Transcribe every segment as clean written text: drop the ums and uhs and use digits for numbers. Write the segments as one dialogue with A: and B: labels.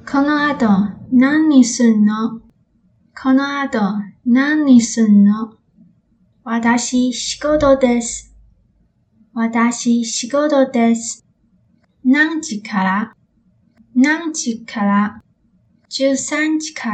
A: この後何すんの？この後何すんの？私仕事です。私仕事です。何時から？何時から？13時から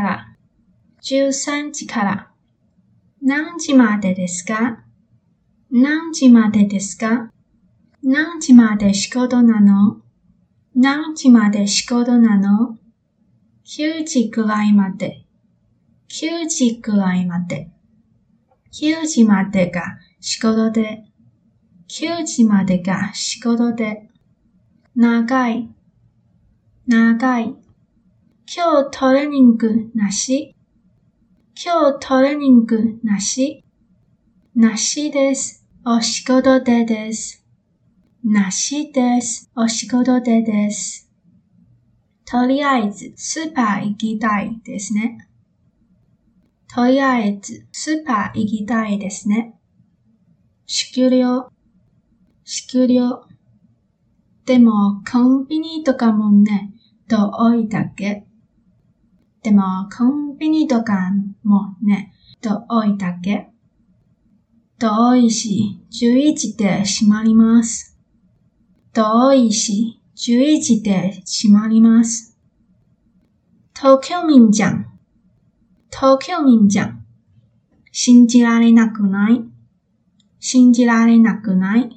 A: 。13時から。何時までですか？何時までですか？何時まで仕事なの？何時まで仕事なの？9時くらいまで。9時くらいまで。9時までが仕事で。9時までが仕事で。長い。長い。今日トレーニングなし？今日トレーニングなし？なしです。お仕事でです。なしです。お仕事でです。とりあえずスーパー行きたいですね。とりあえずスーパー行きたいですね。終了。終了。でもコンビニとかもね、遠いだけ。でもコンビニとかもね、遠いだけ。遠いし、11時で閉まります。遠いし、11時で閉まります。東京民じゃん。東京民じゃん。信じられなくない？信じられなくない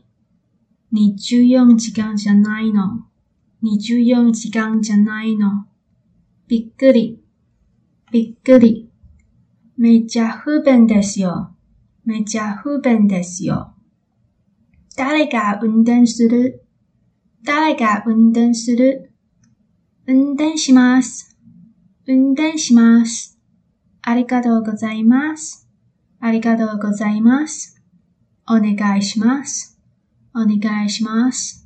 A: ？24時間じゃないの。24時間じゃないの。びっくり。びっくり。めっちゃ不便ですよ。めっちゃ不便ですよ。誰が運転する？誰が運転する？運転します。運転します。ありがとうございます。ありがとうございます。お願いします。お願いします。